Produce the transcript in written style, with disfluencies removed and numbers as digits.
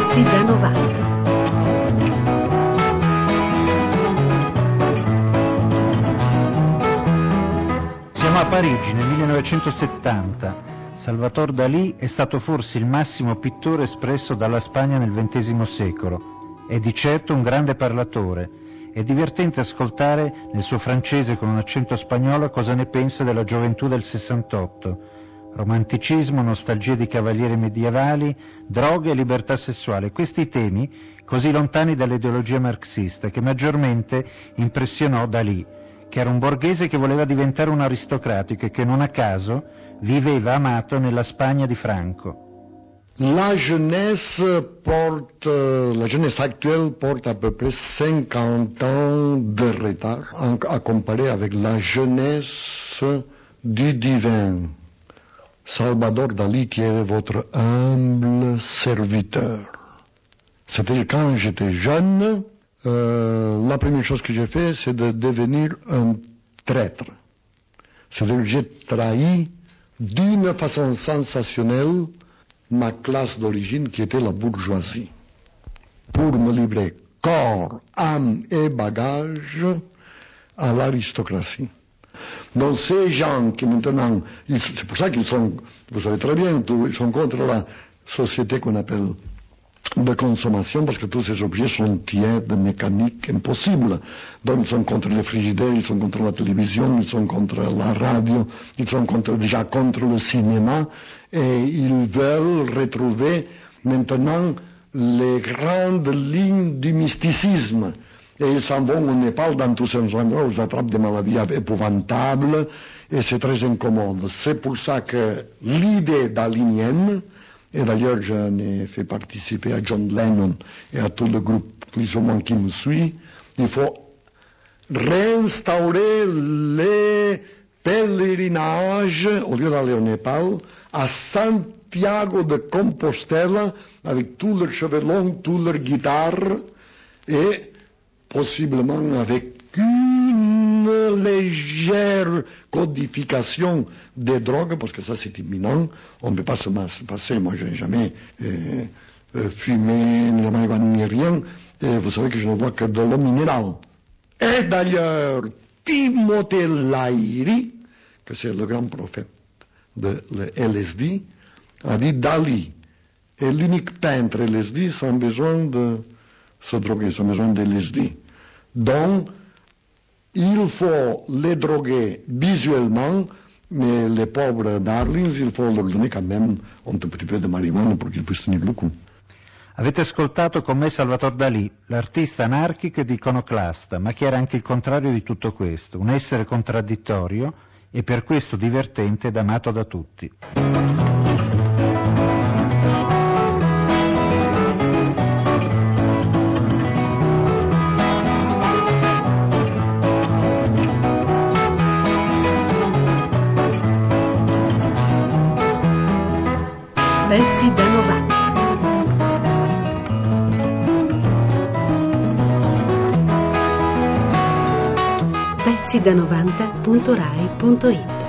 Pezzi da 90. Siamo a Parigi nel 1970. Salvador Dalì è stato forse il massimo pittore espresso dalla Spagna nel XX secolo. È di certo un grande parlatore. È divertente ascoltare nel suo francese con un accento spagnolo cosa ne pensa della gioventù del 68. Romanticismo, nostalgia di cavalieri medievali, droghe e libertà sessuale. Questi temi così lontani dall'ideologia marxista che maggiormente impressionò Dalì, che era un borghese che voleva diventare un aristocratico e che non a caso viveva amato nella Spagna di Franco. La jeunesse actuelle porte à peu près 50 ans de retard à comparer avec la jeunesse du divin. Salvador Dalí qui est votre humble serviteur. C'est-à-dire quand j'étais jeune, la première chose que j'ai fait, c'est de devenir un traître. C'est-à-dire que j'ai trahi d'une façon sensationnelle ma classe d'origine qui était la bourgeoisie, pour me livrer corps, âme et bagage à l'aristocratie. Donc ces gens qui maintenant, c'est pour ça qu'ils sont, vous savez très bien, ils sont contre la société qu'on appelle de consommation, parce que tous ces objets sont tièdes, mécaniques, impossibles. Donc ils sont contre les frigidaires, ils sont contre la télévision, ils sont contre la radio, ils sont déjà contre le cinéma, et ils veulent retrouver maintenant les grandes lignes du mysticisme. Et ils s'en vont au Népal, dans tous ces endroits où ils attrapent des maladies épouvantables, et c'est très incommode. C'est pour ça que l'idée dalinienne, et d'ailleurs j'en ai fait participer à John Lennon et à tout le groupe plus ou moins qui me suit, il faut réinstaurer les pèlerinages, au lieu d'aller au Népal, à Santiago de Compostela, avec tous leurs cheveux longs, toutes leurs guitares, et possiblement avec une légère codification des drogues, parce que ça c'est imminent, on ne peut pas se passer, moi je n'ai jamais fumé, ni la marijuana, ni rien, et vous savez que je ne vois que de l'eau minérale. Et d'ailleurs, Timothée Laïri, que c'est le grand prophète de LSD, a dit Dalí est l'unique peintre LSD sans besoin de se droguer, sans besoin de LSD. Donc, il faut les droguer visuellement, mais les pauvres darlings, il faut leur donner quand même un tout petit peu de marijuana pour qu'ils puissent tenir le coup. Avete ascoltato con me Salvador Dalì, l'artista anarchico ed iconoclasta, ma che era anche il contrario di tutto questo, un essere contraddittorio e per questo divertente ed amato da tutti. Pezzi da 90. Pezzi da 90.rai.it